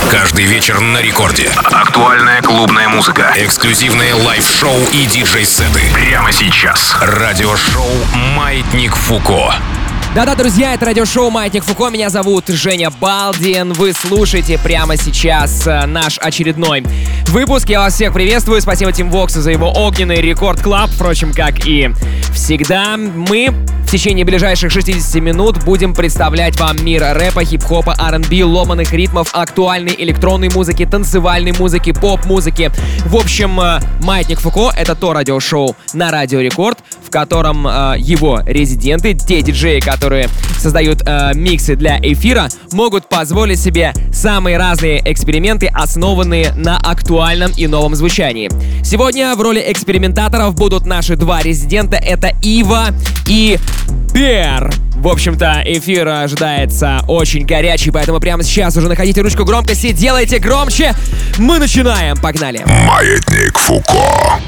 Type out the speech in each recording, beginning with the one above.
Каждый вечер на рекорде. Актуальная клубная музыка. Эксклюзивные лайв-шоу и диджей-сеты. Прямо сейчас. Радиошоу «Маятник Фуко». Да-да, друзья, это радиошоу «Маятник Фуко». Меня зовут Женя Балдин. Вы слушаете прямо сейчас наш очередной выпуск. Я вас всех приветствую. Спасибо Тим Воксу за его огненный Рекорд Клаб. Впрочем, как и всегда, мы в течение ближайших 60 минут будем представлять вам мир рэпа, хип-хопа, R&B, ломаных ритмов, актуальной электронной музыки, танцевальной музыки, поп-музыки. В общем, «Маятник Фуко» — это то радиошоу на Радио Рекорд, в котором его резиденты, те диджеи, которые создают миксы для эфира, могут позволить себе самые разные эксперименты, основанные на актуальном и новом звучании. Сегодня в роли экспериментаторов будут наши два резидента — это Ива и Бер. В общем-то, эфир ожидается очень горячий, поэтому прямо сейчас уже находите ручку громкости, делайте громче. Мы начинаем, погнали. Маятник Фуко.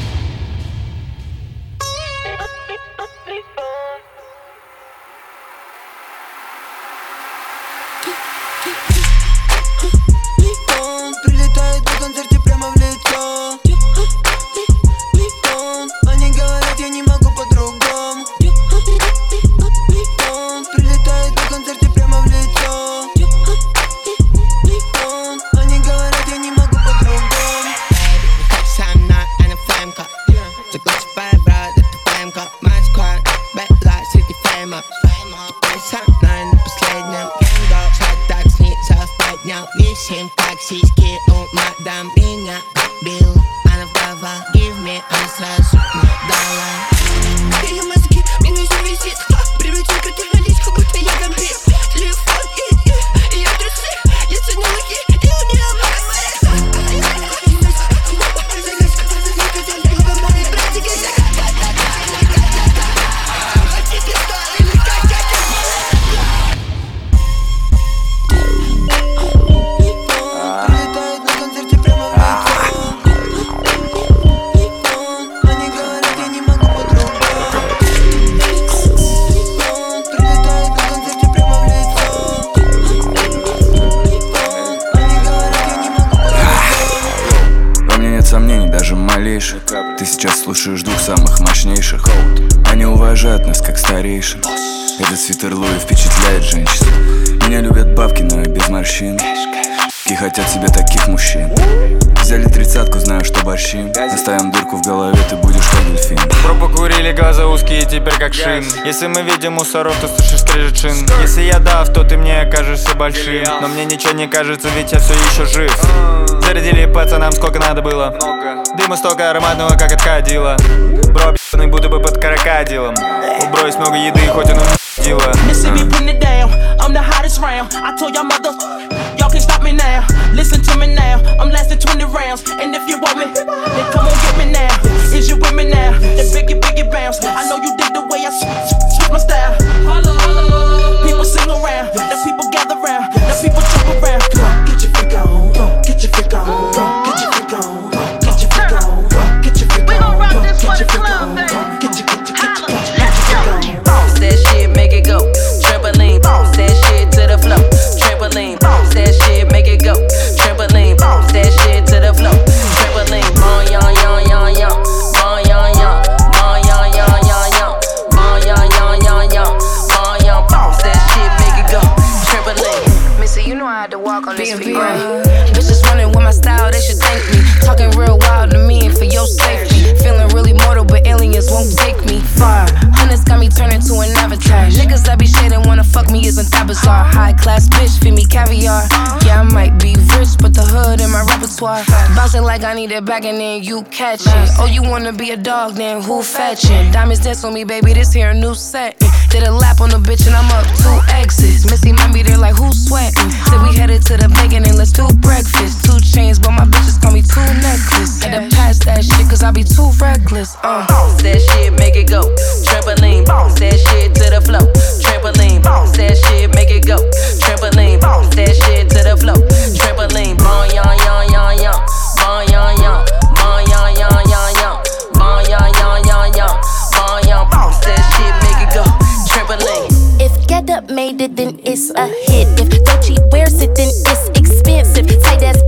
Ты сейчас слушаешь двух самых мощнейших. Они уважают нас как старейшин. Этот свитер Луи впечатляет женщин. Меня любят бабки, но я без морщин. И хотят себе таких мужчин. Взяли 30-ку, знаю, что борщим. Оставим дырку в голове, ты будешь как дельфин. Пробу курили, глаза узкие, теперь как шин. Если мы видим мусоров, то слышишь скрежет шин. Если я дав, то ты мне окажешься большим. Но мне ничего не кажется, ведь я все еще жив. Зарядили пацанам сколько надо было. Дыма столько ароматного, как от кадила. Бро, б***ный, будто бы под крокодилом. У бро есть много еды, хоть он дила. I'm the hottest round. I told y'all mother, y'all can't stop me now. Listen to me now. I'm lasting 20 rounds. And if you want me, then come on get me now. Is you with me now? Then biggie bounce. I know you dig the way I switch my style. People sing around, the people gather round, the people jump around. Get your freak on, get your freak on, get your freak on, get your freak on, get your freak on. We gon' rock this for the club, baby. Get your freak on. Bounce that shit, make it go. Trampoline, bounce that shit to the floor. Trampoline, bounce that shit, make it go. Trampoline, bounce that shit to the floor. Trampoline, bon yon yon yon yon, bon yon yon, bon yon yon yon yon, bon yon yon yon yon, bon yon, bounce that shit, make it go. Trampoline. Missy, you know I had to walk on this feet, right? Bitches running with my style, they should thank me. Talking real wild to me and for your safety. Feeling really mortal, but aliens won't take me far. Hunters got me turning to an avatar. Niggas that be shading wanna fuck me isn't that bizarre. High class bitch, feed me caviar. Yeah, I might be rich, but the hood in my repertoire. Bouncing like I need it back and then you catch it. Oh, you wanna be a dog, then who fetching? Diamonds dance on me, baby, this here a new set. Did a lap on the bitch and I'm up 2 exits. Missy might be there like who's sweating. Said we headed to the bacon and let's do breakfast. 2 chains, but my bitches call me 2 necklaces. Had to pass that shit cause I be too reckless. Bounce that shit, make it go. Trampoline, bounce that shit to the floor. Trampoline, bounce that shit, make it go. Trampoline, bounce that shit to the floor. Trampoline, bon yon yon yon yon, bon yon yon, bon yon yon yon yon, bon yon yon yon yon, bon yon, bounce that shit, make it go. Trampoline. If Get Up made it, then it's a hit. If Gucci wears it, then it's expensive. Tight ass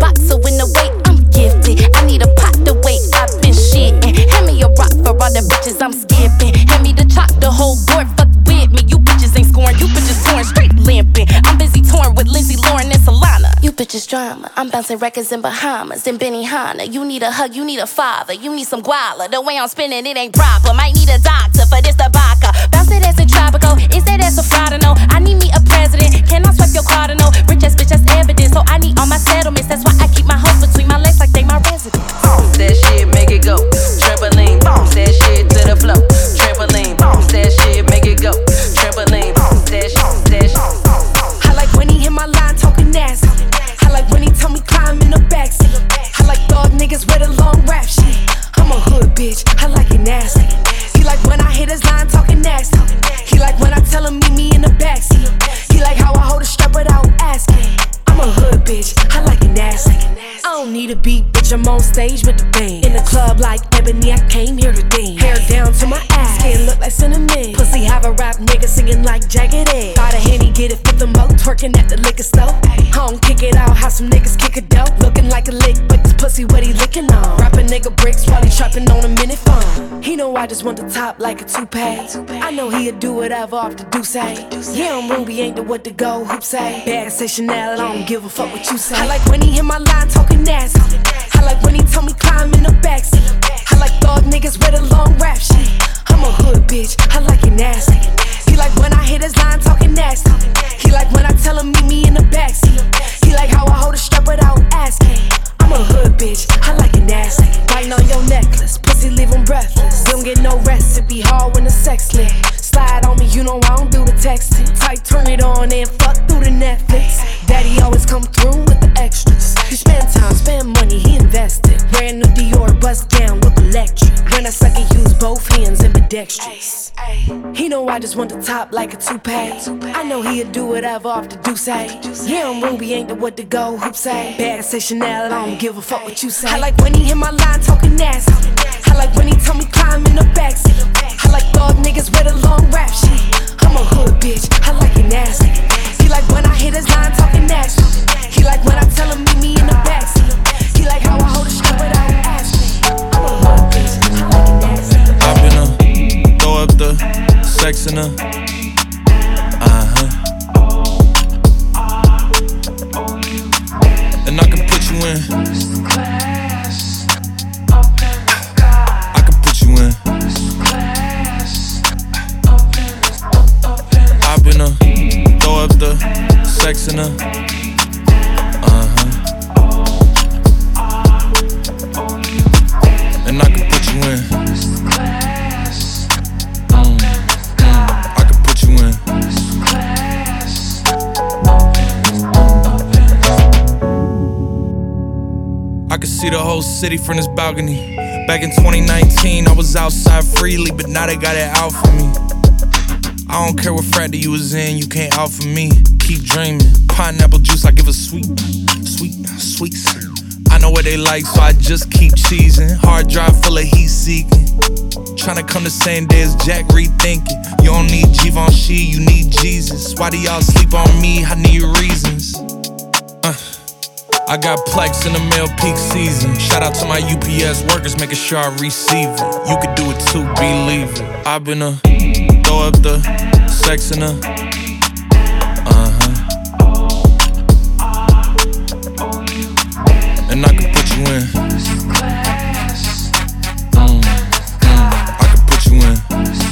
drama. I'm bouncing records in Bahamas and Benihana. You need a hug, you need a father, you need some guala. The way I'm spinning it ain't proper. Might need a doctor for this tobacco. Bounce it as a tropical, is that as a fraud? No, I need me a president. Can I swipe your card? No, rich ass bitch, that's evidence. So I need all my settlements. That's why I keep my hoes between my legs like they my residence. Bounce that shit, make it go. Trampoline, bounce that shit to the floor. Trampoline, bounce that shit, make it go. Trampoline, bounce that shit. I like when he hit my line talking nasty. I like when he tell me climb in the backseat. I like thug niggas with a long rap shit. I'm a hood bitch, I like it nasty. He like when I hit his line talking nasty. He like when I tell him meet me in the backseat. He like how I hold a strap without asking. I'm a hood bitch, I like it nasty. I don't need a beat, bitch, I'm on stage with the band. In the club like Ebony, I came here to dance. Hair down to my ass, skin look like cinnamon. Pussy have a rap nigga singing like Jagged Edge. Got a Henny, get it, fit the mo, twerking at the liquor store. Home, kick it out, how some niggas kick a dope. Looking like a lick, but this pussy what he licking on. Rapping nigga bricks while he trapping on a minute phone. He know I just want the top like a toupee. I know he'll do whatever off the do say. Yeah, I'm Ruby, ain't the what to go, hoop say. Bag say Chanel, I don't give a fuck what you say. I like when he hit my line talking nasty. I like when he tell me climb in the backseat. I like thug niggas with a long rap shit. I'm a hood bitch, I like it nasty. He like when I hit his line talking nasty. He like when I tell him meet me in the backseat. He like how I hold a strap without asking. I'm a hood bitch, I like it nasty. Biting on your necklace, pussy leave him breathless. Don't get no rest, it be hard when the sex lit. Slide on me, you know I don't do the texting. Tight, turn it on and fuck through the Netflix. Daddy always come through with the extras. He spend time, spend money, he invested. Brand new Dior, bust down, look electric. When I suck it, use both hands ambidextrous. He know I just want the top like a toupee. I know he'll do whatever off the do say. Yeah, I'm Ruby, ain't the what to go, hoop say. Bag say Chanel, I don't give a fuck what you say. I like when he hit my line talking nasty. I like when he tell me climb in the backseat. I like thug niggas with a long rap shit. I'm a hood bitch, I like it nasty. He like when I hit his line talking nasty. He like when I tell him meet me in the backseat. He like how I hold a strap without asking. I'm a hood bitch, I like it nasty. Hop in her, throw up the sex in her. And I can put you in. I can put you in. Hop in her, throw up the sex in her. And I can put you in. I can put you in. I can see the whole city from this balcony. Back in 2019, I was outside freely, but now they got it out for me. I don't care what frat that you was in, you can't out for me. Keep dreaming. Pineapple juice, I give a sweet. I know what they like, so I just keep cheesing. Hard drive full of heat seeking. Tryna come the same day as Jack, rethinking. You don't need Givenchy, you need Jesus. Why do y'all sleep on me? I need reasons. I got Plex in the mail peak season. Shout out to my UPS workers, making sure I receive it. You could do it too, believe it. I've been throw up the sex in her. And I can put you in. I can put you in.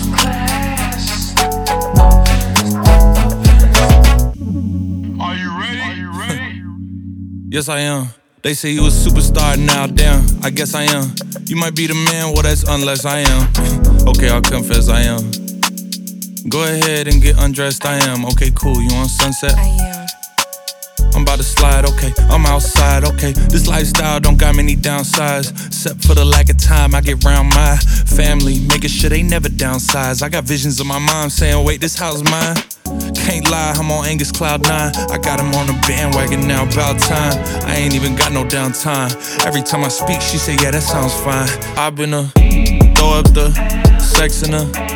Are you ready? Yes, I am. They say you a superstar now, damn, I guess I am. You might be the man, well that's unless I am. Okay, I'll confess I am. Go ahead and get undressed, I am. Okay, cool, you on Sunset? I am. I'm about to slide, okay, I'm outside, okay. This lifestyle don't got many downsides, except for the lack of time I get around my family, making sure they never downsize. I got visions of my mom saying, wait, this house mine. Can't lie, I'm on Angus Cloud 9. I got him on the bandwagon now, about time. I ain't even got no downtime. Every time I speak, she say, yeah, that sounds fine. I've been throw up the sex in her.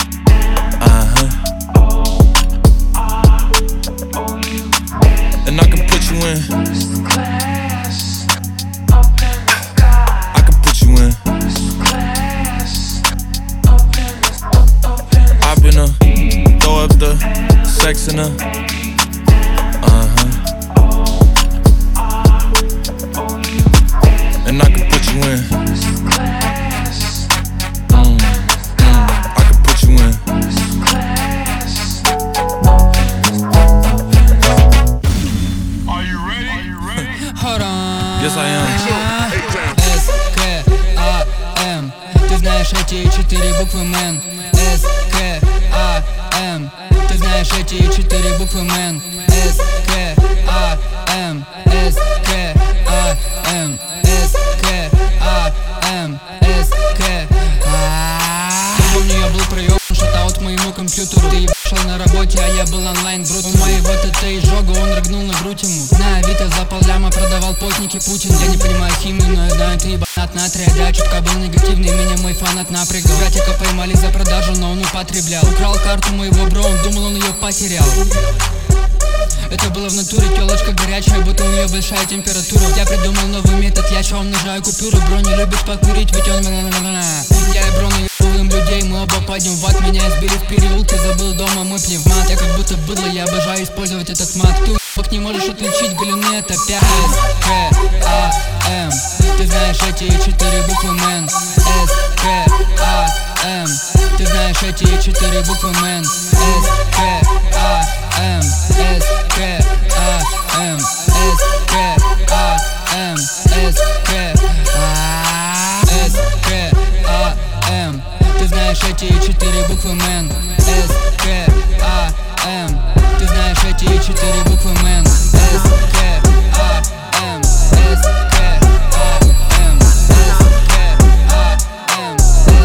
And I can put you in. I can put you in. I've been throw up the sex in her. Yes, I am. S-K-A-M. Ты знаешь эти 4 буквы, мэн. S-K-A-M. Ты знаешь эти 4 буквы, мэн. S-K-A-M. S-K-A-M. S-K-A-M. S-K-A-M. Помню, я был проёбан, шатаут моему компьютеру. Ты ебашил на работе, а я был онлайн, брут. У моего ТТ изжога, он рыгнул на грудь ему. На Авито за полляма продавал потники Путин. Я не понимаю химию, но я знаю, ты ебанат натрия. Да, чутка был негативный, меня мой фанат напрягал. Братика поймали за продажу, но он употреблял. Украл карту моего бро, он думал, он ее потерял. Это было в натуре, телочка горячая, будто у нее большая температура. Я придумал новый метод, я чё умножаю купюры. Бро не любит покурить, ведь он я и бро наебываем людей, мы оба пойдем в ад. Меня избили в переулке, забыл дома мой пневмат. Я как будто быдло, я обожаю использовать этот мат. Ты уебок не можешь отличить, галюны это 5 S-K-A-M. Ты знаешь эти 4 буквы, мэн. S-K-A-M. Ты знаешь эти 4 буквы, мэн. S-K-A-M. S-K-A-M. S-K-A-M. S-K-A-M. Ты знаешь эти 4 буквы, мэн. S-K-A-M. Ты знаешь эти 4 буквы, мэн. S-K-A-M. S-K-A-M. S-K-A-M.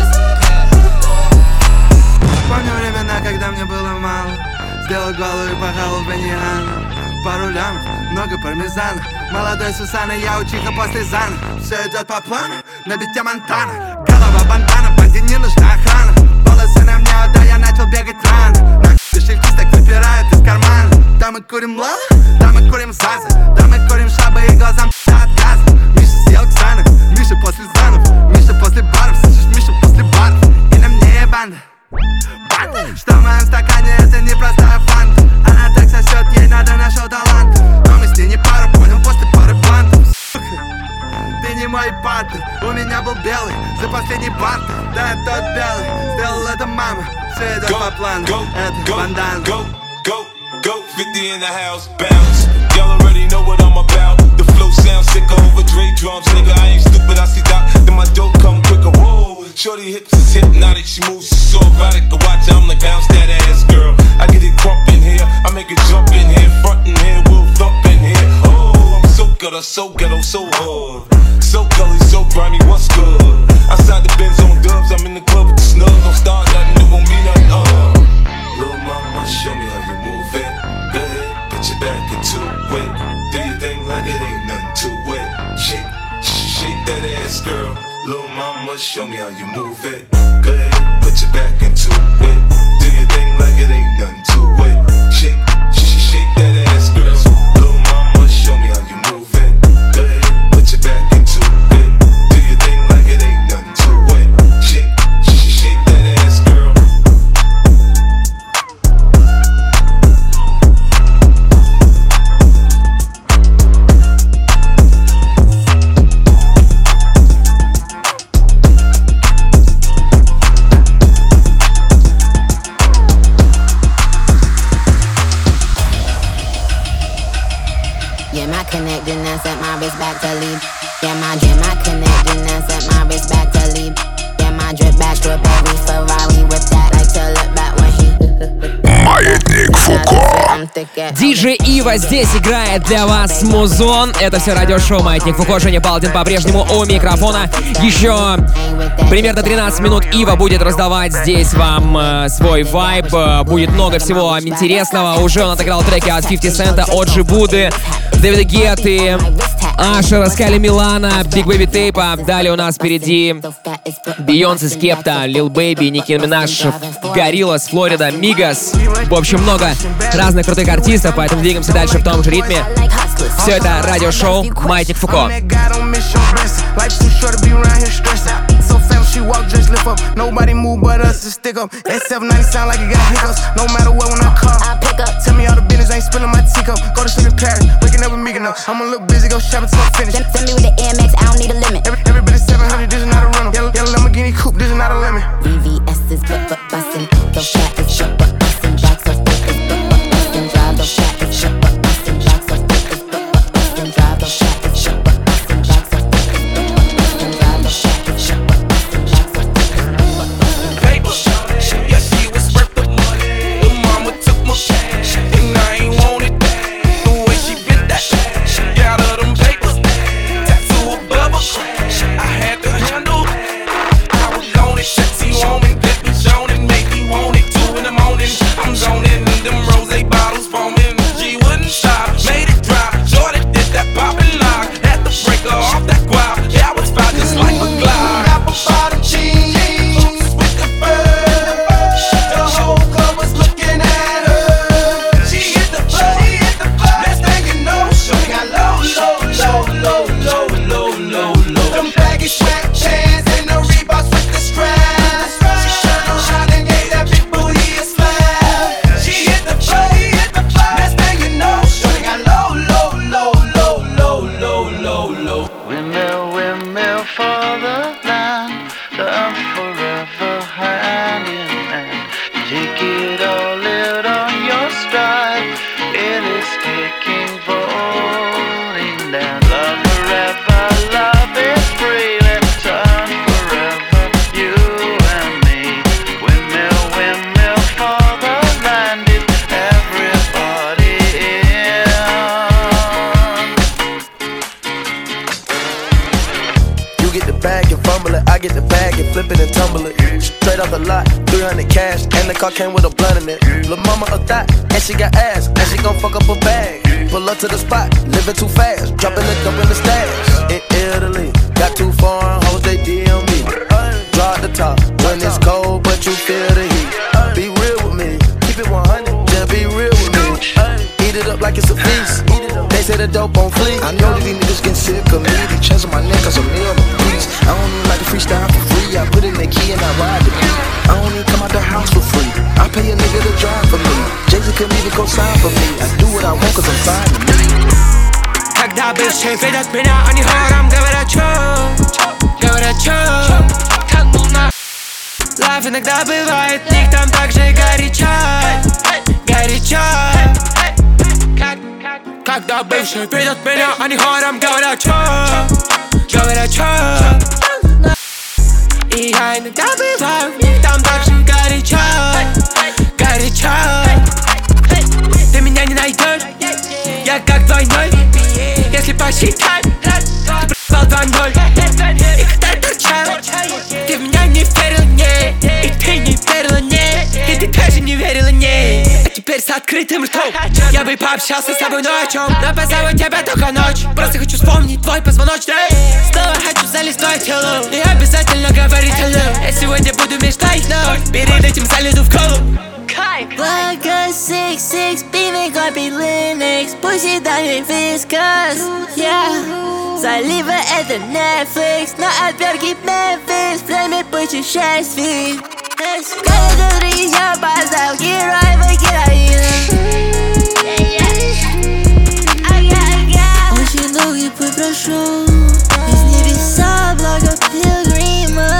Помню времена, когда мне было мало. Сделал голову и похавал баньяна. Пару лямов, много пармезана. Молодой Сусана, я учиха после зана. Все идет по плану, на бите Монтана. Голова бандана, банде не нужна охрана. Волосы на мне, да я начал бегать рано. Нахуй кошельки так выпирают из кармана. Да мы курим лава, да мы курим заза. Да мы курим шабы и глазам от газа. Миша съел Ксанов, Миша после занов. Миша после баров, слышишь, Миша после баров. И на мне банда. Что в моем стакане это не простая фанта. Она так сосет, ей надо нашел талант. Но мы с ней не пара, понял, после пары плантов. Ты не мой партнер, у меня был белый за последний бартер. Да, тот белый, сделал это мама. Все идет по плану, это бандан. Go, 50 in the house, bounce. Y'all already know what I'm about. The flow sounds sick over Dre drums, nigga. I ain't stupid, I see that. Then my dope come quicker. Whoa, shorty hips is hypnotic, she moves so erotic. I watch her, I'm like bounce that ass, girl. I get it crump in here, I make it jump in here, front in here, we'll thump in here. Oh, I'm so ghetto, so ghetto, so hard, so gully, so grimy. What's good? Outside the Benz on dubs, I'm in the club with the snubs. Don't start nothing, it won't be nothing. Little mama, show me how you move it. Go ahead, put your back into it. Do your thing like it ain't nothing to it. Shake that ass, girl. Little mama, show me how you move it. Go ahead, put your back into it. Do your thing like it ain't nothing to it. Shake that ass, girl. Little mama, show me how you move it. Go ahead, put your back into it. Do your thing like it ain't nothing to it. Shake that ass, girl. Connect and I set my wrist back to leave. Yeah, my connect and I set my wrist back to leave. Yeah, my drip back to a baby Ferrari with that. Like to look back when he. Маятник Фуко. Диджей Ива здесь играет для вас музон. Это все радиошоу Маятник Фуко. Женя Балдин по-прежнему у микрофона. Еще примерно 13 минут Ива будет раздавать здесь вам свой вайб. Будет много всего интересного. Уже он отыграл треки от 50 Цента, от Джибуды, Дэвида Гетты, Ашера, Скайли Милана, Биг Бэйби Тейпа. Далее у нас впереди Бейонсе, Скепта, Лил Бэйби, Ники Минаж, Гориллас, Флорида, Мигас. В общем, много разных крутых артистов, поэтому двигаемся дальше в том же ритме. Все это радиошоу Маятник Фуко. She walk, just lift up. Nobody move but us to stick up. That 790 sound like it got hiccups. No matter what, when I call, I pick up. Tell me all the business, ain't spilling my teacup. Go to sleep in Paris, waking up with me enough. I'm a little busy, go shopping till I'm finished. Send me with the Air Max, I don't need a limit. Every bit is 700, this is not a rental. Yellow Lamborghini coupe, this is not a lemon. VVS is bustin', the fat is bustin', box of bustin', drive the fat is bustin', box of bustin', drive the fat is bustin'. get the bag and flip it and tumble it. Straight off the lot, 300 cash, and the car came with a blunt in it. Lil' mama a thot, and she got ass, and she gon' fuck up a bag. Pull up to the spot, living too fast, dropping the dope in the stash. In Italy, got 2 foreign hoes, they DM me. Draw at the top, when it's cold, but you feel the heat. Be real with me, keep it 100, just be real with me. Eat it up like it's a feast. They say the dope on fleek. I know that these niggas getting sick of me. They chasing my neck cause I'm near the piece. I don't even like to freestyle for free. I put in the key and I ride the beat. I don't even come out the house for free. I pay a nigga to drive for me. Jay-Z couldn't even go sign for me. I do what I want cause I'm fine to me. Когда бывшие видят меня, они хором говорят чё? Говорят чё? Как был на лайф иногда бывает, в них там так же горячо. Горячо. Когда бывшие видят меня, они хором говорят чё? Говорят чё? И я иногда бываю, в них там так же горячо. Горячо. Ты меня не найдешь, я как двойной. Если посчитать, ты проебал 2-0. И когда торчал, ты в меня не верил, не. И ты не верила, не. И ты тоже не верила, не. А теперь с открытым ртом я бы пообщался с тобой ночью. Но позову тебя только ночь. Просто хочу вспомнить твой позвоночник. Снова хочу залезть в твое тело. И обязательно говорить hello. Я сегодня буду мечтать, но перед этим залезу в колу. Vodka 6-6, beaming copy Linux. Pussy down your viscous, yeah. Залива это Netflix, но отвертки Memphis. Время пучи счастье. Каждый день я поставил героя героина. Очень долгий путь прошел из небеса, благо пилгрима.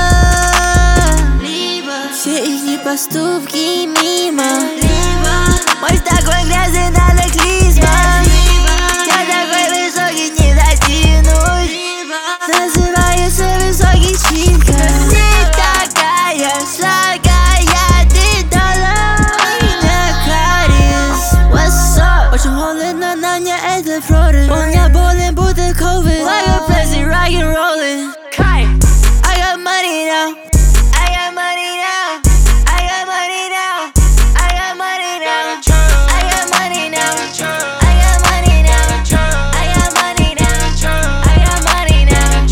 Все их поступки мимо. Мой такой грязный, надо клизма. Я такой высокий, не дотянусь. Называется высокий читка. Ты такая сладкая, ты дала меня кариес. What's up? Очень холодно, на мне это флорид. Он меня болен, будто COVID. Like a plastic rock and rollin'. I got money now. I got money now. I got money now. I got money now. I got money now. I got money now. I got money now. I got money now.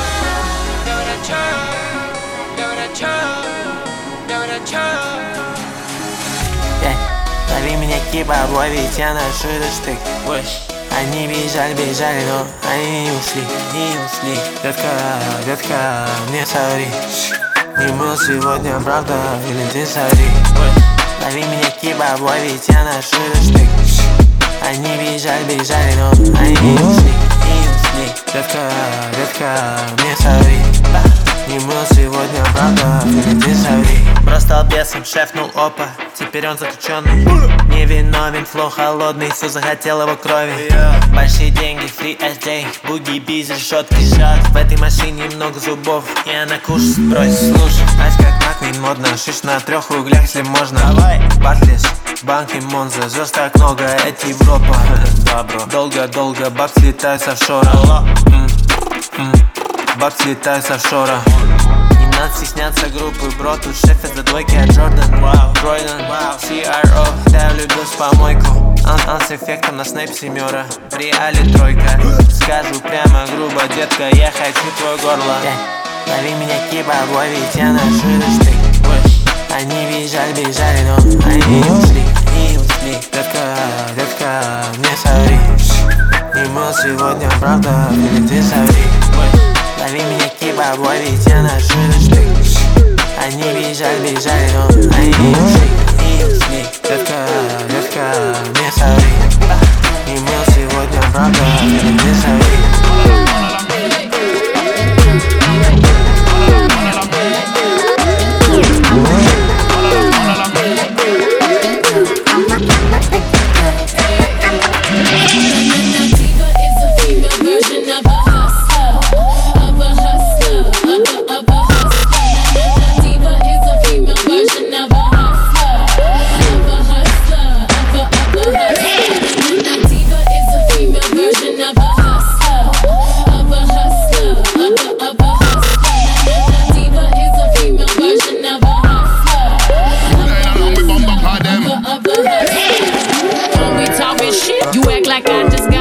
Лови меня киба, обловить, я ношу этот штык. Они бежали, бежали, но они не ушли, не ушли. Детка, детка, мне соври. Не был сегодня, правда, или ты соври. Лови меня киба, обловить, я ношу этот штык. Они бежали, бежали, но они не ушли, не ушли. Детка, детка, мне соври. Не был сегодня, правда, или ты соври. Бросал бесом, шефнул опа, теперь он заключенный. Невиновен, флоу холодный, все захотел его крови. Большие деньги, free SD, буги, биз, решетки. В этой машине много зубов, и она кушать бросит. Слушай, знаешь как Маквин модно, шиш на 3 углях, если можно. Бартлиш, банки, Монза, звезд так много, это Европа. Долго-долго, бабки летают с офшора. Бабки летают с офшора. Не надо стесняться группы, бро, тут шеф из-за двойки от Джордан. Тройден, CRO, да я влюбился в помойку. С эффектом на снэп 7, в реале 3. Скажу прямо грубо, детка, я хочу твое горло. Лови меня киба, обловить, я ношу этот штык. Они бежали, бежали, но они не ушли, не ушли. Детка, детка, мне соври. Не был сегодня, правда, или ты соври. Лови меня киба, обловить, я ношу этот штык. Они бежали, бежали, но они не ушли, не ушли. Детка, детка, мне соври. Не был сегодня, правда, или ты соври. Diva is a female version of a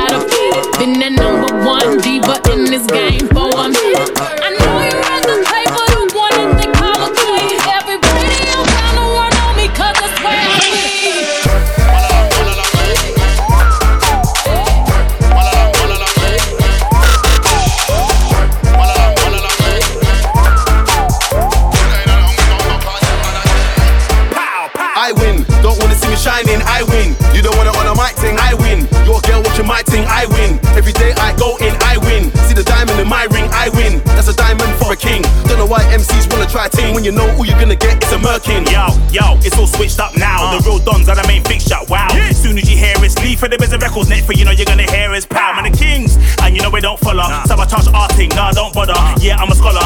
gotta fit. Been that number one diva in this game for a minute. I know you read the paper, the one that they call a queen. Every radio kinda run on me 'cause that's where I live. I win, don't wanna see me shining, I win. You don't wanna on a mic thing, I win. Your girl watching my thing, I win. Every day I go in, I win. See the diamond in my ring, I win. That's a diamond for a king. Don't know why MCs wanna try ting when you know all you're gonna get is a merkin. Yo, it's all switched up now. The real dons are the main fixture, wow. As soon as you hear it's Lee for the biz of records, next for you know you're gonna hear is Pow and the Kings. And you know we don't follow. Sabotage arting, nah, don't bother. Yeah, I'm a scholar.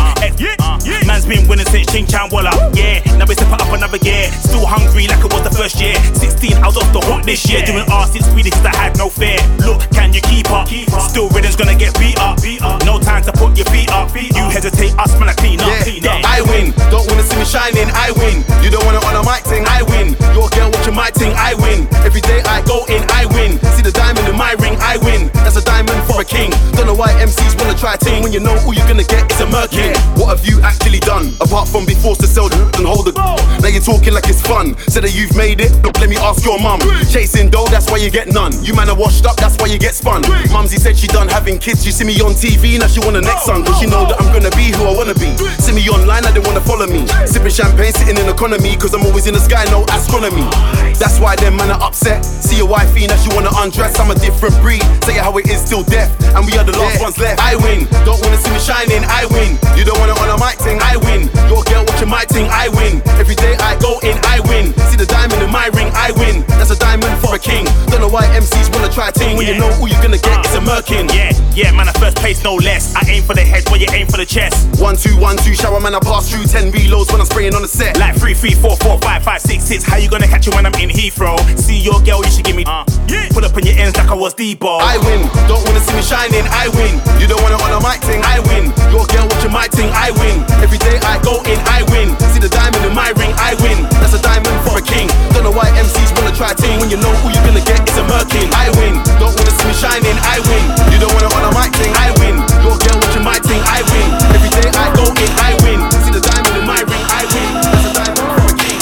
Man's been winning since Ching Chan Walla. Yeah, now we step up another gear. Still hungry like it was the first year. 16, I was off the hook this year. Doing R6 speedy cause I had no fear. Look, can you keep up? Still rhythm's gonna get beat up. No time to put your feet up. You hesitate, us man, I clean up. I win, don't wanna see me shining, I win. You don't wanna on a mic thing, I win. Your girl watching my thing, I win. Every day I go in, I win. See the diamond in my ring, I win. That's a diamond for a king. Don't know why MCs wanna try ting when you know all you're gonna get is a merkin. What have you actually done? Apart from be forced to sell and hold it. Now you're talking like it's fun. Said that you've made it, look, let me ask your mum. Chasing dough, that's why you get none. You man are washed up, that's why you get spun. Mumsy said she done having kids. You see me on TV, now she want the next son. Cause she know that I'm gonna be who I wanna be. See me online, now they wanna follow me. Sipping champagne, sitting in economy. Cause I'm always in the sky, no astronomy. That's why them man are upset. See your wifey, now she wanna undress. I'm a different breed, say it how it is, still deaf. And we are the last ones left. I win, don't wanna see me shining, I win. You don't wanna on a mic thing, I win. Your girl watching my thing, I win. Every day I go in, I win. See the diamond in my ring, I win. That's a diamond for a king. Don't know why MCs wanna try ting when you know all you're gonna get is a merkin. Yeah, man, I first place, no less. I aim for the head while you aim for the chest. 1, 2, 1, 2, shower man, I pass through 10 reloads when I'm spraying on the set. Like 3, 3, 4, 4, 5, 5, 6, 6. How you gonna catch it when I'm in Heathrow? See your girl, you should give me pull up on your ends like I was Debo. I win, don't wanna see me shining, I win. You don't wanna on a mic thing, I win. Your girl watching my thing, I win. Every day I go in, I win. See the diamond in my ring, I win. That's a diamond for a king. Don't know why MCs wanna try ting when you know all you're gonna get is a merkin. I win, don't wanna see me shining, I win. You don't wanna on a mic thing, I win. Your girl watching my thing, I win. Every day I go in, I win. See the diamond in my ring, I win. That's a diamond for a king.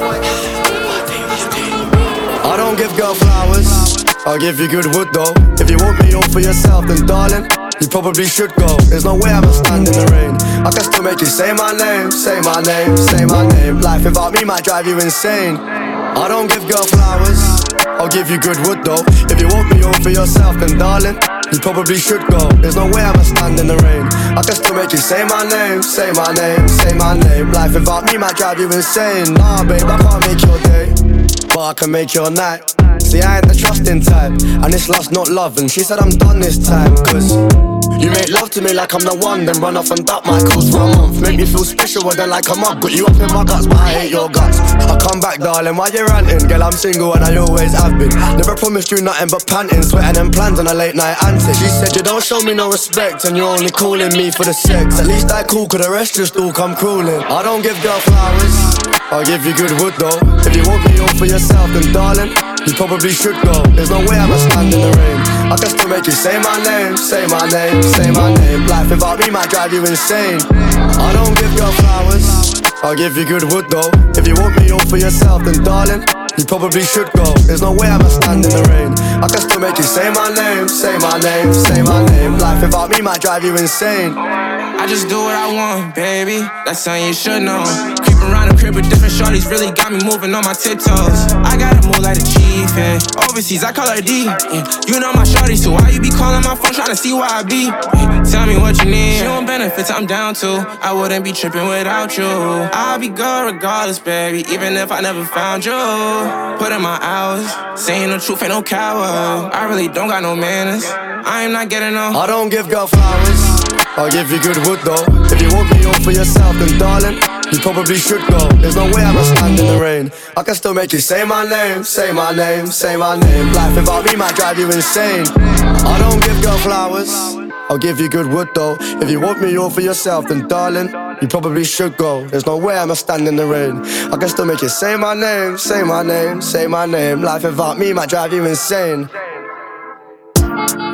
I don't give girl flowers, I'll give you good wood though. If you want me all for yourself, then darling, you probably should go. There's no way I'ma stand in the rain. I can still make you say my name, say my name, say my name. Life without me might drive you insane. I don't give girl flowers, I'll give you good wood though. If you want me all for yourself, then darling, you probably should go. There's no way I'ma stand in the rain. I can still make you say my name, say my name, say my name. Life without me might drive you insane. Nah babe, I can't make your day, but I can make your night. See, I ain't the trusting type, and it's lust, not love. And she said I'm done this time, cause you make love to me like I'm the one, then run off and duck my calls for a month. Make me feel special, then like I'm up. Got you up in my guts, but I hate your guts. I come back, darling, why you ranting? Girl, I'm single and I always have been. Never promised you nothing but panting, sweating and plans on a late night antic. She said you don't show me no respect, and you're only calling me for the sex. At least I cool, cause the rest just all come crawling. I don't give girl flowers, I'll give you good wood though. If you want me all for yourself, then darling, you probably should go. There's no way I'ma stand in the rain. I can still make you say my name, say my name, say my name. Life without me might drive you insane. I don't give girl flowers, I'll give you good wood though. If you want me all for yourself, then darling, you probably should go. There's no way I'ma stand in the rain. I can still make you say my name, say my name, say my name. Life without me might drive you insane. I just do what I want, baby. That's something you should know. Creeping around the crib with different shorties really got me moving on my tiptoes. I gotta move like a chief, yeah. Overseas, I call her D, yeah. You know my shorty, so why you be calling my phone trying to see where I be? Yeah. Tell me what you need. She want benefits, I'm down to. I wouldn't be tripping without you. I'll be good regardless, baby, even if I never found you. Put in my hours, saying the truth, ain't no coward. I really don't got no manners. I am not getting no. I don't give girl flowers, I'll give you good wood though. If you want me all for yourself, then darling, you probably should go. There's no way I'ma stand in the rain. I can still make you say my name, say my name, say my name. Life without me might drive you insane. I don't give girl flowers, I'll give you good wood though. If you want me all for yourself, then darling, you probably should go. There's no way I'ma stand in the rain. I can still make you say my name, say my name, say my name. Life without me might drive you insane.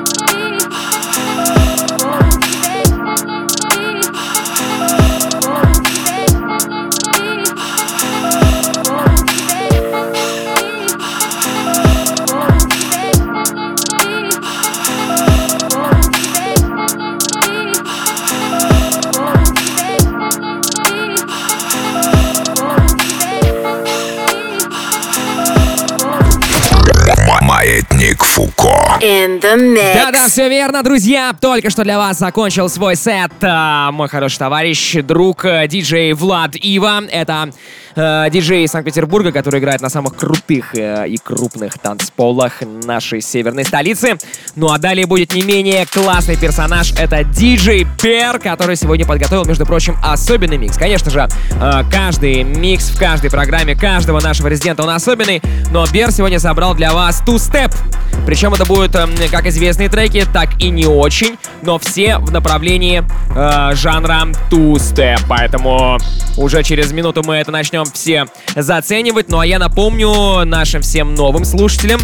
In the mix. Да-да, все верно, друзья. Только что для вас закончил свой сет мой хороший товарищ, друг, диджей Влад Ива. Это диджей из Санкт-Петербурга, который играет на самых крутых и крупных танцполах нашей северной столицы. Ну а далее будет не менее классный персонаж. Это диджей Бер, который сегодня подготовил, между прочим, особенный микс. Конечно же, каждый микс в каждой программе каждого нашего резидента, он особенный. Но Бер сегодня собрал для вас two-step. Причем это будут как известные треки, так и не очень, но все в направлении жанра two-step. Поэтому уже через минуту мы это начнем все заценивать. Ну а я напомню нашим всем новым слушателям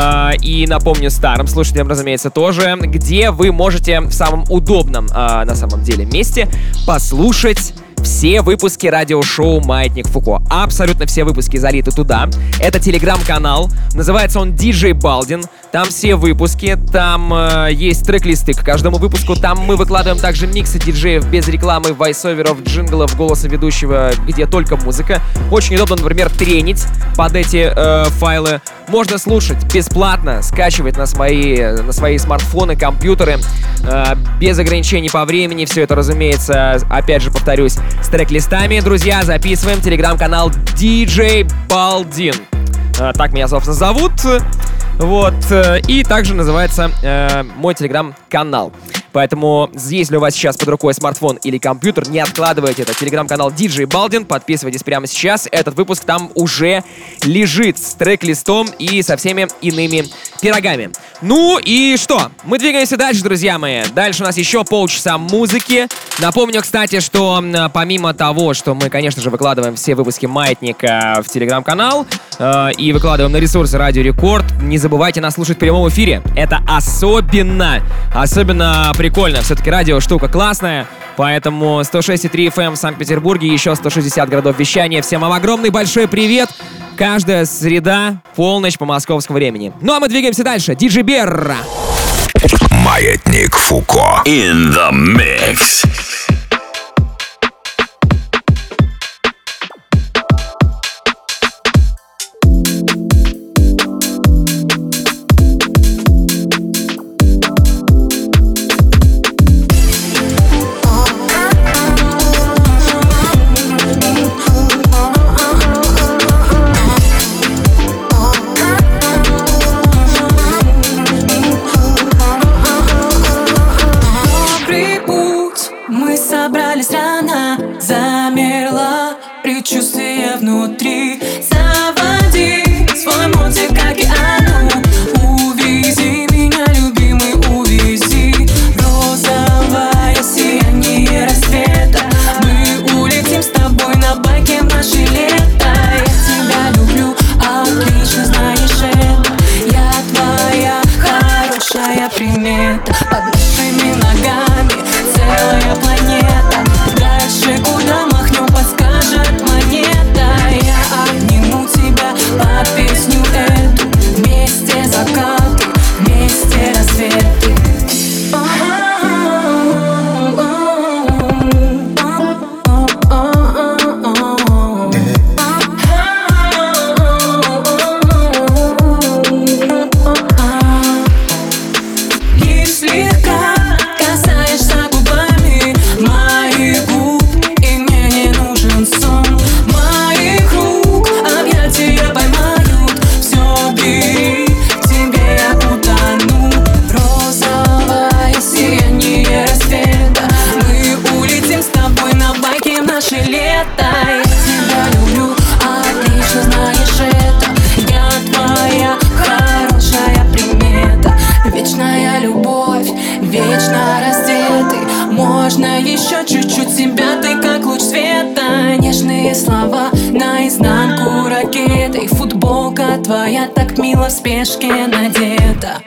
и напомню старым слушателям, разумеется, тоже, где вы можете в самом удобном, на самом деле, месте послушать все выпуски радиошоу «Маятник Фуко». Абсолютно все выпуски залиты туда. Это телеграм-канал. Называется он DJ Baldin. Там все выпуски. Там есть трек-листы к каждому выпуску. Там мы выкладываем также миксы диджеев без рекламы, войсоверов, джинглов, голоса ведущего, где только музыка. Очень удобно, например, тренить под эти файлы. Можно слушать бесплатно, скачивать на свои смартфоны, компьютеры. Без ограничений по времени. Все это, разумеется, опять же повторюсь, с трек-листами. Друзья, записываем телеграм-канал DJ Baldin. Так меня, собственно, зовут. Вот. И также называется мой телеграм-канал. Поэтому, если у вас сейчас под рукой смартфон или компьютер, не откладывайте это. Телеграм-канал DJ Baldin. Подписывайтесь прямо сейчас. Этот выпуск там уже лежит с трек-листом и со всеми иными пирогами. Ну и что? Мы двигаемся дальше, друзья мои. Дальше у нас еще полчаса музыки. Напомню, кстати, что помимо того, что мы, конечно же, выкладываем все выпуски «Маятника» в телеграм-канал и выкладываем на ресурсы Радио Рекорд, не забывайте нас слушать в прямом эфире. Это особенно прикольно. Все-таки радио штука классная. Поэтому 106,3 FM в Санкт-Петербурге, еще 160 городов вещания. Всем вам огромный большой привет. Каждая среда, полночь по московскому времени. Ну а мы двигаемся дальше. Диджей Берра. Маятник Фуко. In the mix. Предчувствие внутри. Заводи свой мотик к океану. Увези меня, любимый, увези. Розовое сияние рассвета. Мы улетим с тобой на байке в наше лето. Я тебя люблю, отлично знаешь это. Я твоя хорошая примета. Под нашими ногами целая планета. Дальше куда махнем, подскажет монета. Я обниму тебя под песню эту. Вместе закаты, вместе рассветы. И слегка касаешься губами моих губ, и мне не нужен сон. Моих рук объятия поймают, все бери, в тебе я утону. Розовое сияние рассвета. Мы улетим с тобой на байке в наше лето. Я тебя люблю, отлично знаешь это. Я твоя хорошая примета. Вечная любовь, вечно раздетый. Можно еще чуть-чуть себя, ты как луч света. Нежные слова наизнанку ракетой. Футболка твоя так мило в спешке надета.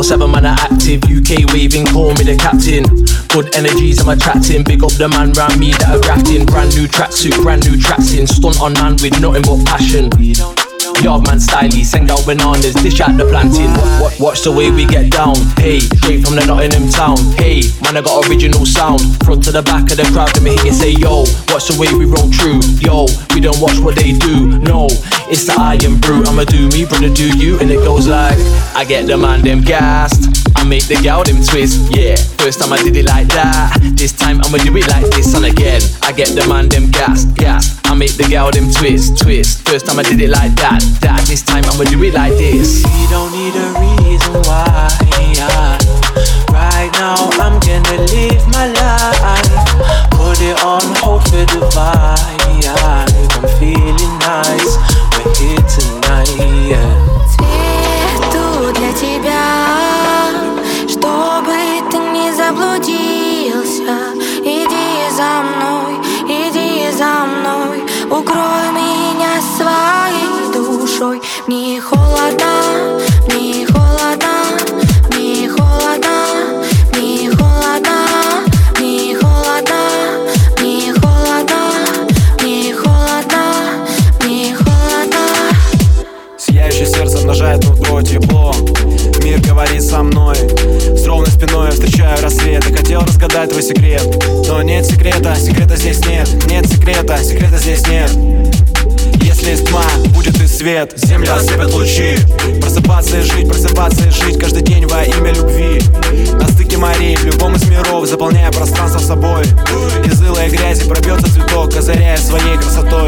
24/7 man are active. UK waving, call me the captain. Good energies I'm attracting. Big up the man round me that are grafting. Brand new tracksuit, brand new tracks in. Stunt on man with nothing but passion. Yard man styly, send out bananas, dish out the planting. Watch the way we get down. Hey, straight from the Nottingham town. Hey, man, I got original sound. Front to the back of the crowd, let me hear you say, yo. Watch the way we roll true. Yo, we don't watch what they do. No, it's the iron brew. I'ma do me, brother, do you. And it goes like, I get the man them gassed. I make the gal them twist. Yeah, first time I did it like that. This time I'ma do it like this and again. I get the man them gassed. I make the gal them twist. First time I did it like that. This time I'ma do it like this. We don't need a reason why. Right now I'm gonna live my life. Put it on hold for the vibe. I'm feeling nice. We're here tonight. Цвету для тебя, чтобы ты не заблудился. Иди за мной, иди за мной. Укрой меня своей душой. Мне холодно, мне холодно, мне холодно, мне холодно, мне холодно, мне холодно, мне холодно, мне холодно. Сияющее сердце умножает внутри тепло. Мир говорит со мной. С ровной спиной я встречаю рассвет. И хотел разгадать твой секрет, но нет секрета, секрета здесь нет. Нет секрета, секрета здесь нет. Если есть тьма, будет и свет. Землю осыпят лучи. Просыпаться и жить каждый день во имя любви. На стыке морей, в любом из миров, заполняя пространство собой. Из ила и грязи пробьется цветок, озаряя своей красотой.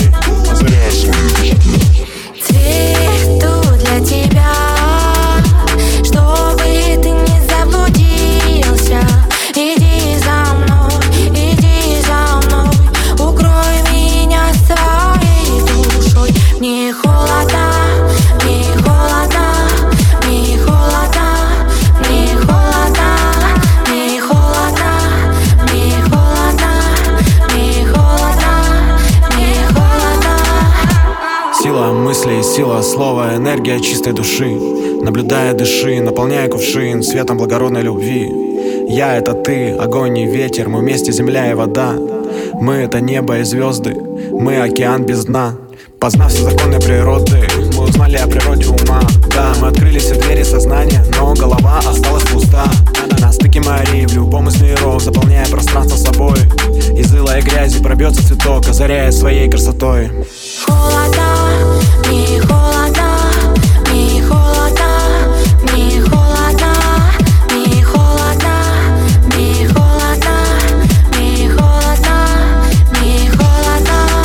Цвету для тебя, чтобы ты не заблудился. Иди за мной, иди за мной. Укрой меня своей душой. Мне холодно, мне холодно, мне холодно, мне холодно, мне холодно, мне холодно, мне холодно, мне холодно. Сила мыслей, сила слова, энергия чистой души. Наблюдая, дыши, наполняя кувшин светом благородной любви. Я — это ты, огонь и ветер, мы вместе земля и вода. Мы — это небо и звезды, мы — океан без дна. Познав все законы природы, мы узнали о природе ума. Да, мы открыли все двери сознания, но голова осталась пуста. На стыке морей, в любом из миров, заполняя пространство собой. Из ила и грязи пробьется цветок, озаряя своей красотой. Холодно, мне холодно, мне холодно, мне холодно, мне холодно, мне холодно, мне холодно, мне холодно.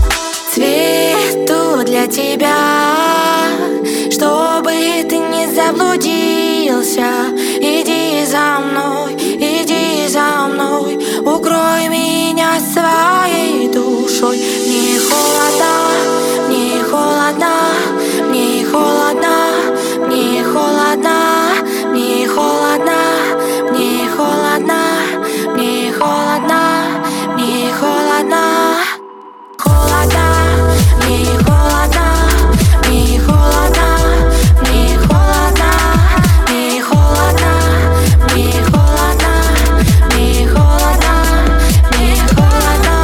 Цвету для тебя, чтобы ты не заблудился. Иди за мной, иди за мной. Укрой меня своей душой. Мне холодно, мне холодно, мне холодно, мне холодно, мне холодно, мне холодно, мне холодно, мне холодно. Холодно, мне холодно, мне холодно, мне холодно, мне холодно, мне холодно, мне холодно, мне холодно.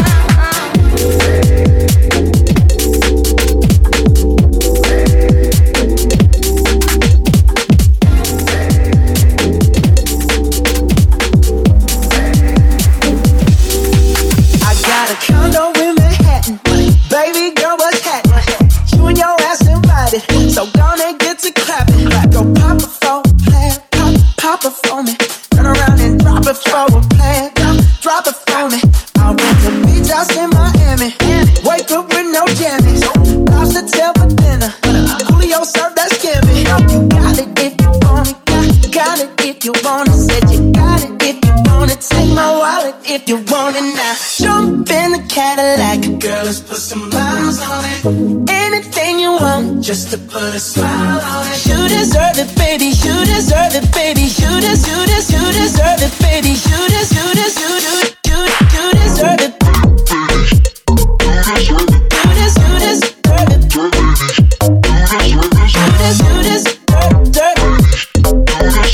I got a condo in Manhattan. Baby girl, what's happening? You and your ass invited, so gonna get to clapping. Go pop it for a plan, pop it for me. Turn around and drop it for a plan, drop it for me. I'll rent the beach house in Miami. Wake up with no jammies. Lobster tail for dinner. Julio served that scampi. You got it if you want it. Got it if you want it. Said you got it if you want it. Take my wallet if you want it now. Jump in the Cadillac. Girl, let's put some miles on it. Anything you want, just to put a smile on it. You deserve it, baby. You deserve it, baby. You deserve it, baby. You deserve it. You deserve it. You deserve it.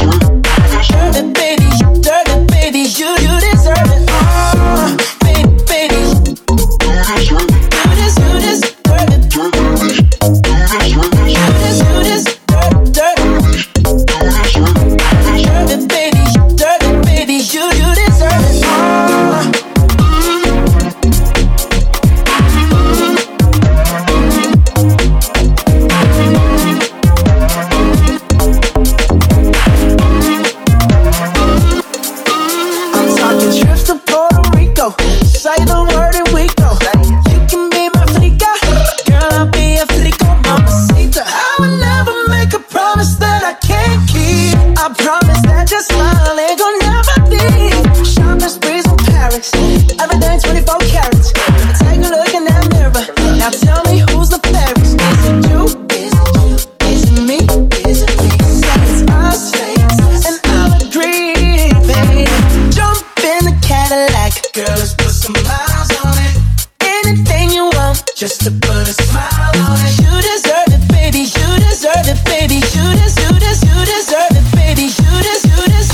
just to put a smile on it. You deserve it, baby. You deserve it, baby. You deserve it, baby. You deserve it.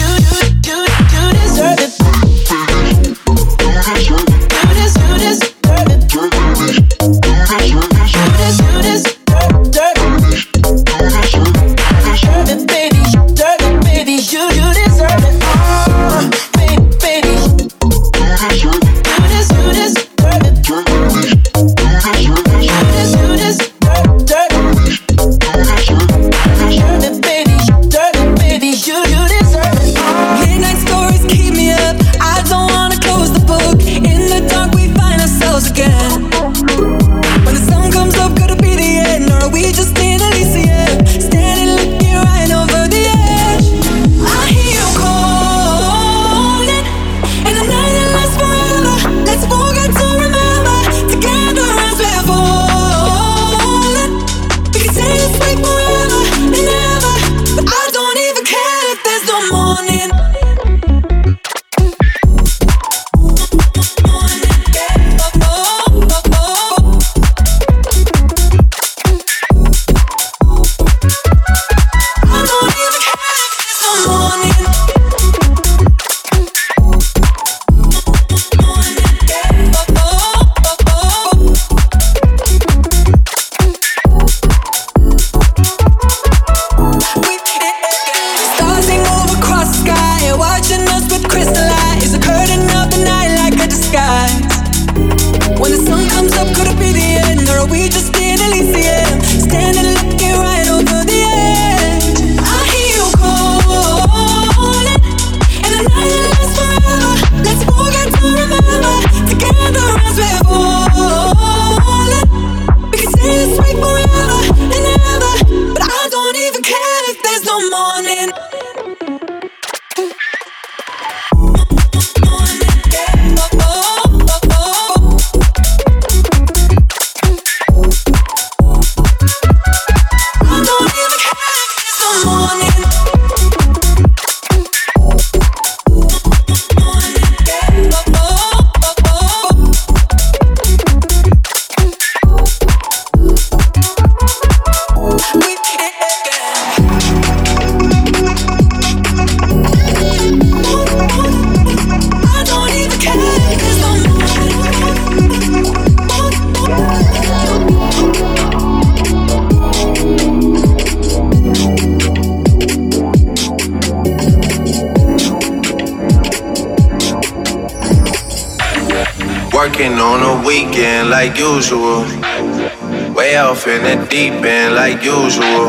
Working on a weekend like usual. Way off in the deep end like usual.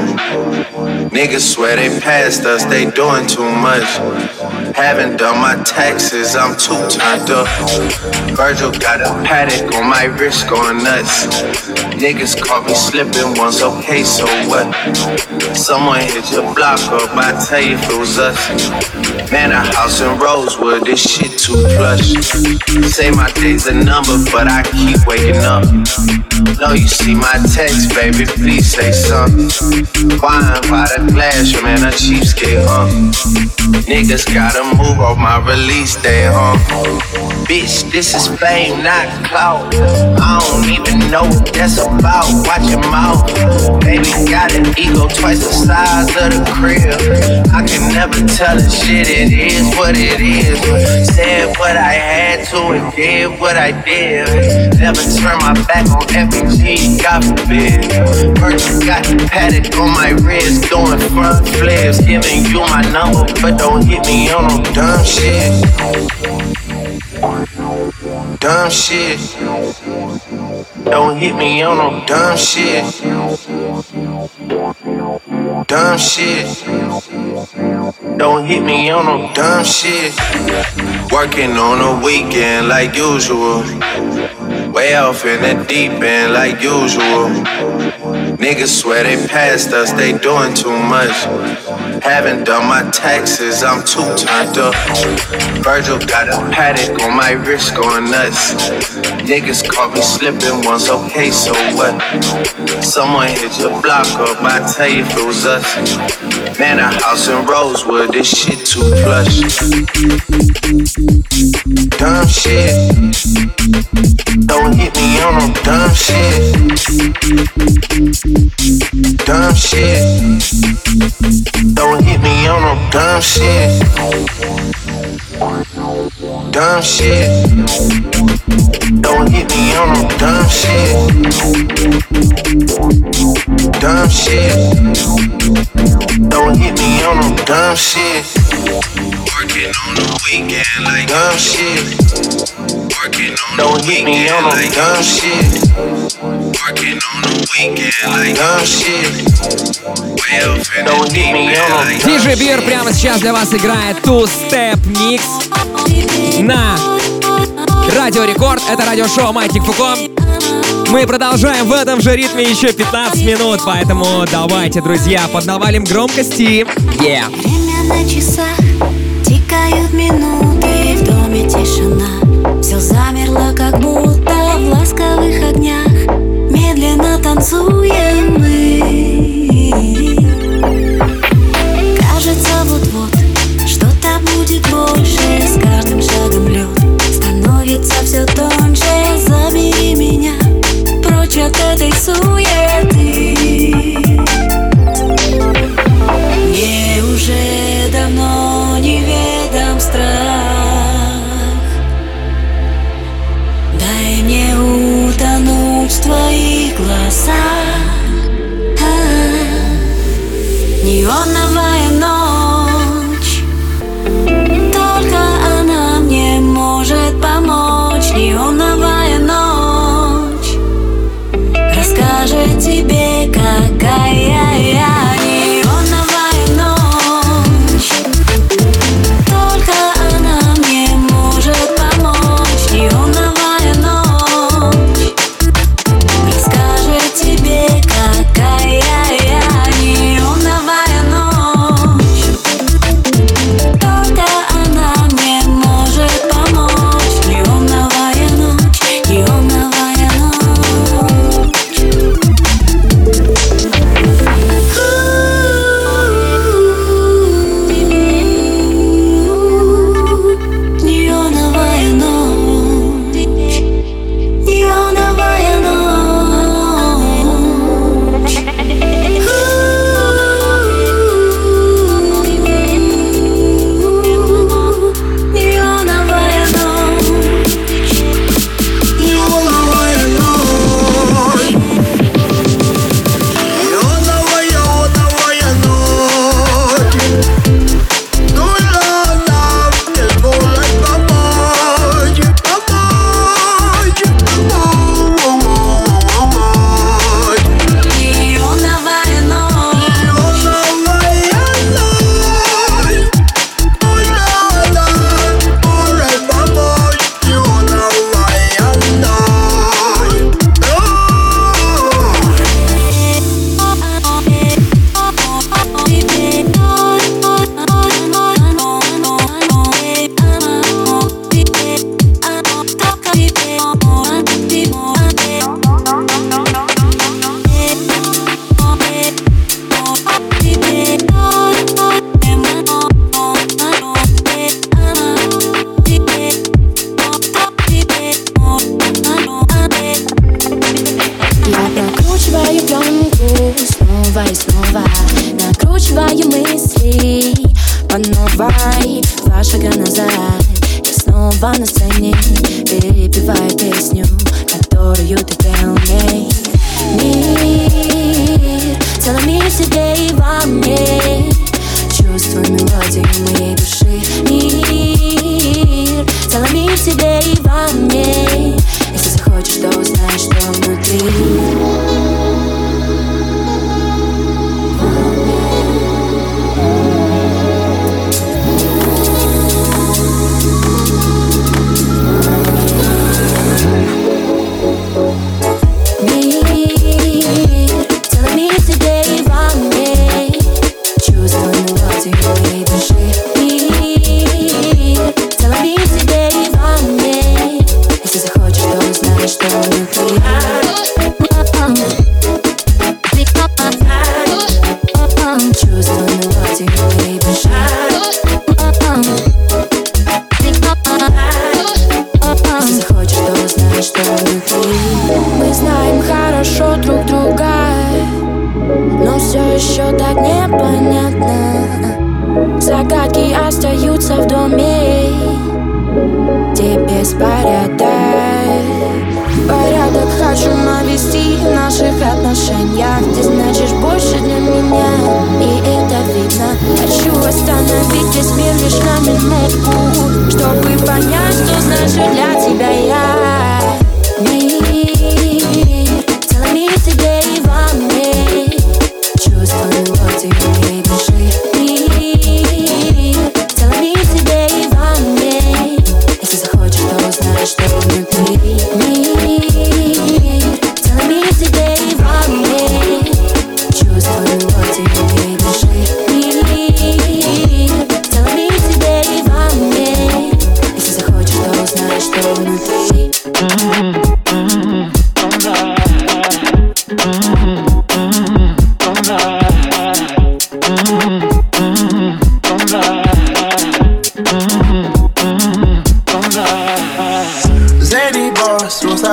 Niggas swear they passed us, they doing too much. Haven't done my taxes, I'm too turned up. Virgil got a paddock on my wrist going nuts. Niggas caught me slipping once, okay, so what? Someone hit your block up, I tell you if it was us. Man, a house in Rosewood, this shit too plush. Say my day's a number, but I keep waking up. No, you see my text, baby, please say something. Wine by the glass, man, a cheapskate, Niggas gotta move off my release day, Bitch, this is fame, not clout. I don't even know what that's about. Watch your mouth. Baby got an ego twice the size of the crib. I can never tell a shit, it is what it is. Said what I had to and did what I did. Never turn my back on FG, God forbid. Virgil got the paddock on my wrist, doing front flips. Giving you my number, but don't hit me on no dumb shit. Dumb shit. Don't hit me on no dumb shit. Dumb shit. Don't hit me on no dumb shit. Working on a weekend like usual. Way off in the deep end like usual. Niggas swear they passed us, they doing too much. Haven't done my taxes, I'm too turned up. Virgil got a paddock on my wrist going nuts. Niggas caught me slipping once, okay, so what? Someone hit your block up, I tell you if it was us. Man, a house in Rosewood, this shit too plush. Dumb shit. Don't hit me on no dumb shit. Dumb shit. Don't hit me on no dumb shit. Dumb shit. Don't hit me on no dumb shit. Dumb shit. Don't hit me on no dumb shit. Working on the weekend like dumb shit. Working on don't hit me on no dumb shit. Working on the weekend like dumb shit. Don't hit me on no DJ Beer прямо сейчас для вас играет Two Step Mix на Радио Рекорд. Это радиошоу Маятник Фуко. Мы продолжаем в этом же ритме еще 15 минут, поэтому давайте, друзья, поднавалим громкости. Время на часах, тикают минуты, в доме тишина. Все замерло, как будто в ласковых огнях. Медленно танцуем мы. Кажется, вот-вот что-то будет больше. С каждым шагом лед становится все тоньше. Забери меня прочь от этой суеты. Мне уже давно неведом страх. Дай мне утонуть в твоих глазах. Неоновая ночь, только она мне может помочь. Неоновая ночь расскажет тебе, какая я. Неоновая ночь, только она мне может помочь. Неоновая ночь расскажет тебе, какая я. Неоновая ночь, только она мне может помочь. Неоновая ночь, неоновая ночь. Неоновая ночь, неоновая ночь. Неоновая ночь, неоновая ночь. Неоновая Я прокручиваю пленку снова и снова, накручиваю мысли по новой. Два шага назад, я снова на сцене, перепеваю песню, которую ты пел мне. Мир, целый мир в тебе и во мне. Чувствую мелодию моей души. Мир, целый мир в тебе и во мне. Если захочешь, то узнаешь, что внутри. Мир, целый мир в тебе и во мне. Чувствую мелодию моей души. Мир, целый мир в тебе и во мне. Если захочешь, то узнаешь, что внутри.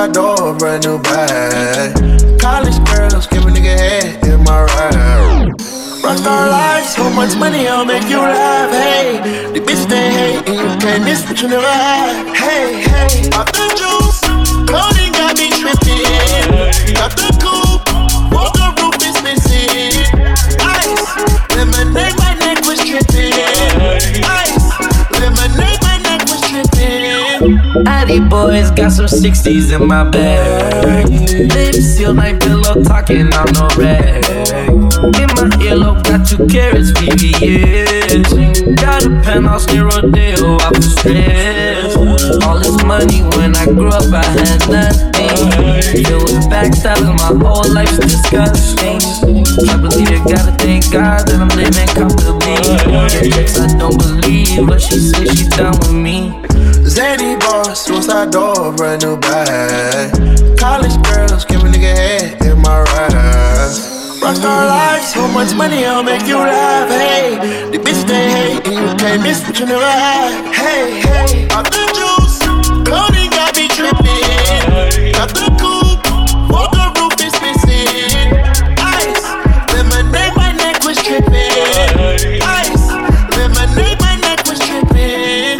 side door, brand new bag. College girls, give a nigga head in my ride. Rockstar life, so much money, I'll make you laugh. Hey, the bitch they hate, and you can't miss what you never had. Hey, hey, pop the juice, clothing got me tripping. Got the coupe, walk the roof is missing. Ice, lemonade, my neck was tripping. Ice, lemonade, my neck was tripping. Addy boys got some 60s in my bag. Lips sealed like pillow talking, I'm no rag. In my earlobe, got 2 carats, VVS. Got a penthouse near Rodeo, I was stressed. All this money, when I grew up, I had nothing. Filled with backstabbing, my whole life's disgusting. I believe you gotta thank God that I'm living comfortably. Yes, I don't believe, but she says she done with me. Zany boss, suicide door, brand new bag. College girls, give a nigga head in my ride. Rockstar life, so much money, I'll make you laugh. Hey, the bitch they hate, and you can't miss what you never had. Hey, hey, pop the juice, clothing got me tripping. Got the coupe, walk the roof is missing. Ice, lemonade, my neck was tripping. Ice, lemonade, my neck was tripping.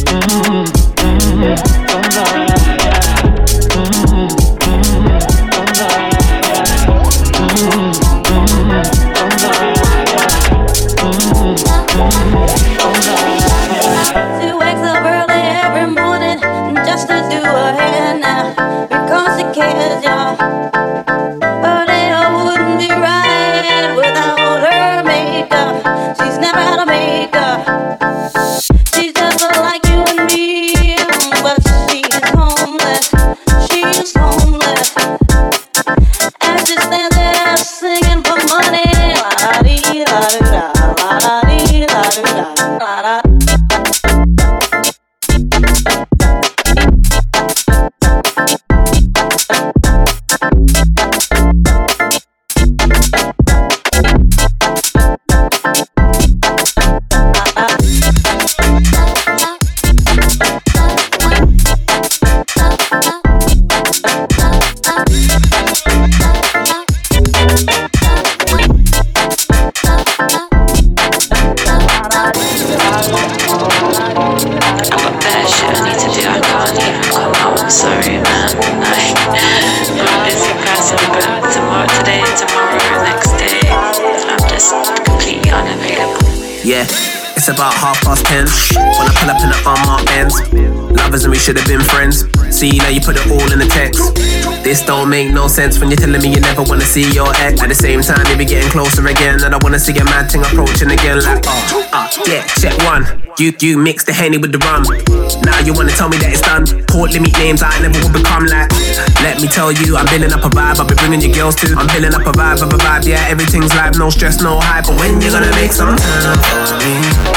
Yeah, it's about 10:30 when I pull up in the unmarked Benz. Lovers and we should have been friends. See, now you put it all in the text. This don't make no sense when you're telling me you never wanna see your ex. At the same time, you be getting closer again, and I wanna see a mad thing approaching again. Like, yeah, check one. You mix the Henny with the rum. Now you wanna tell me that it's done. Port limit names I never would become like. Let me tell you, I'm building up a vibe. I'll be bringing your girls too. I'm building up a vibe. Yeah, everything's live, no stress, no hype. But when you gonna make some time for me?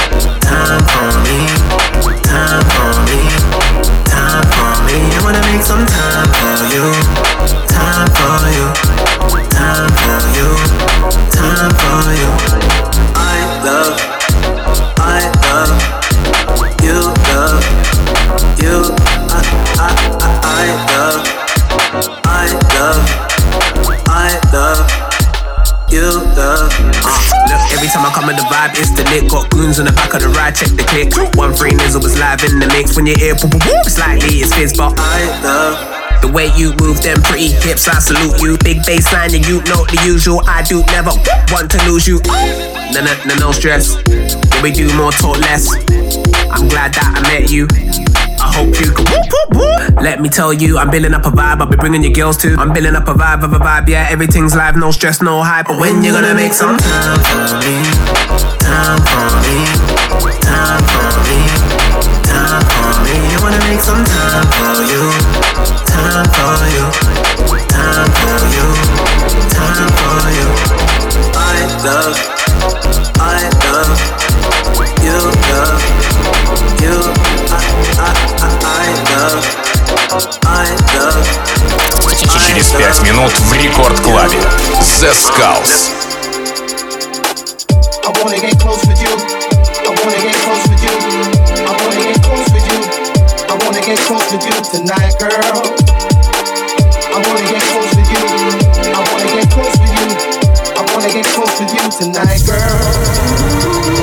Time for me. Time for me. Time for me. I wanna make some time for you. Time for you. Time for you. Time for you. I love you, love you. I love you, love. Look, every time I come in the vibe, it's the lit. Got goons on the back of the ride, check the click. 1-3 Nizzle was live in the mix. When you hear slightly, it's fizz, but I love the way you move them pretty hips. I salute you. Big bassline and you know the usual. I do never want to lose you. No stress. Yeah, we do more, talk less. I'm glad that I met you. I hope you can let me tell you, I'm building up a vibe. I'll be bringing your girls too. I'm building up a vibe. Yeah, everything's live, no stress, no hype. But when you gonna make some time for me? Time for me. Time for me. Time for me. I wanna make some time for you. Time for you. Time for you. Time for you. I love you, love you. Через 5 минут в Рекорд-клабе The Skulls. I wanna get close with you. I wanna get close with you. I wanna get close with you. I wanna get close with you tonight, girl. tonight, girl.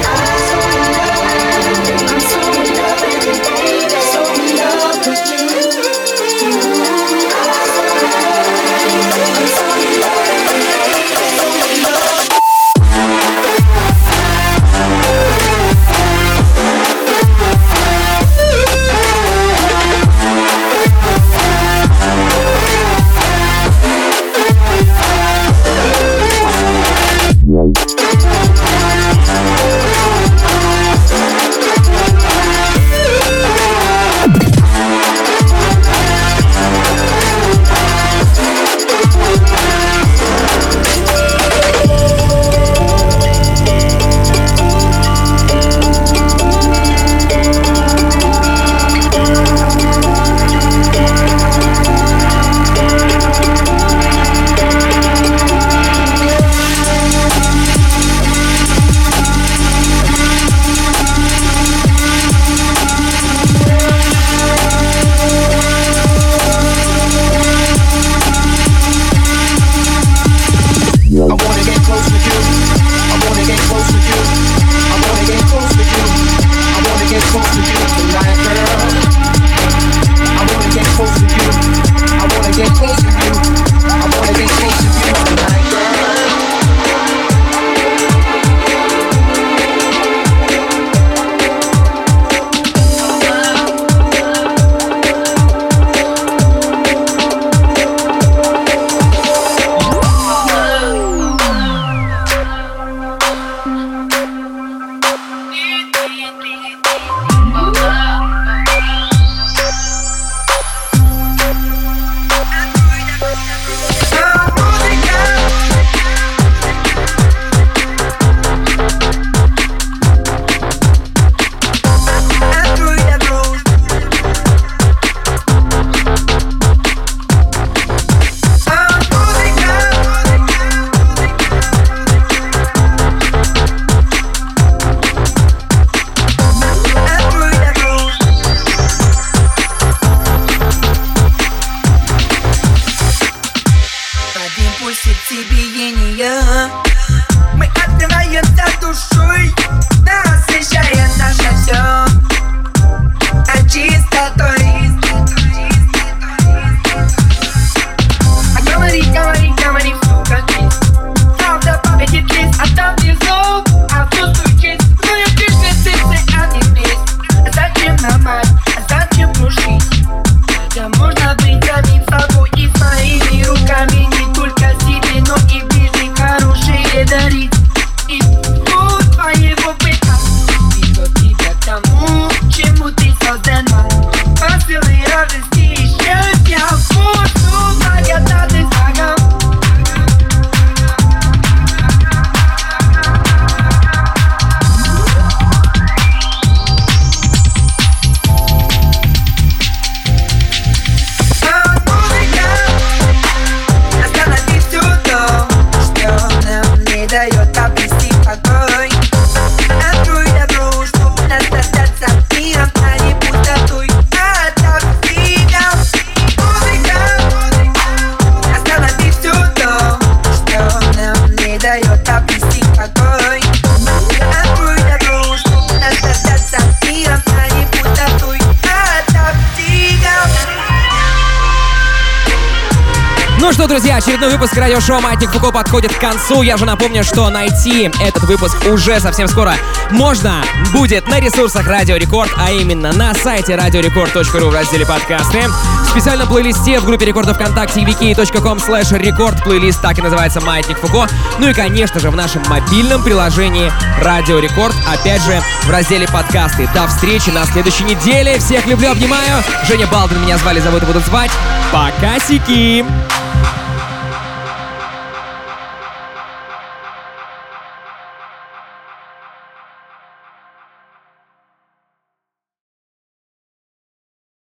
Ну что, друзья, очередной выпуск радиошоу «Маятник Фуко» подходит к концу. Я же напомню, что найти этот выпуск уже совсем скоро можно будет на ресурсах Радио Рекорд, а именно на сайте radiorecord.ru в разделе «Подкасты». В специальном плейлисте в группе рекордов ВКонтакте vk.com/record плейлист так и называется «Маятник Фуко». Ну и, конечно же, в нашем мобильном приложении Радио Рекорд, опять же, в разделе «Подкасты». До встречи на следующей неделе. Всех люблю, обнимаю. Женя Балдин меня звали, зовут и будут звать. Пока-сики!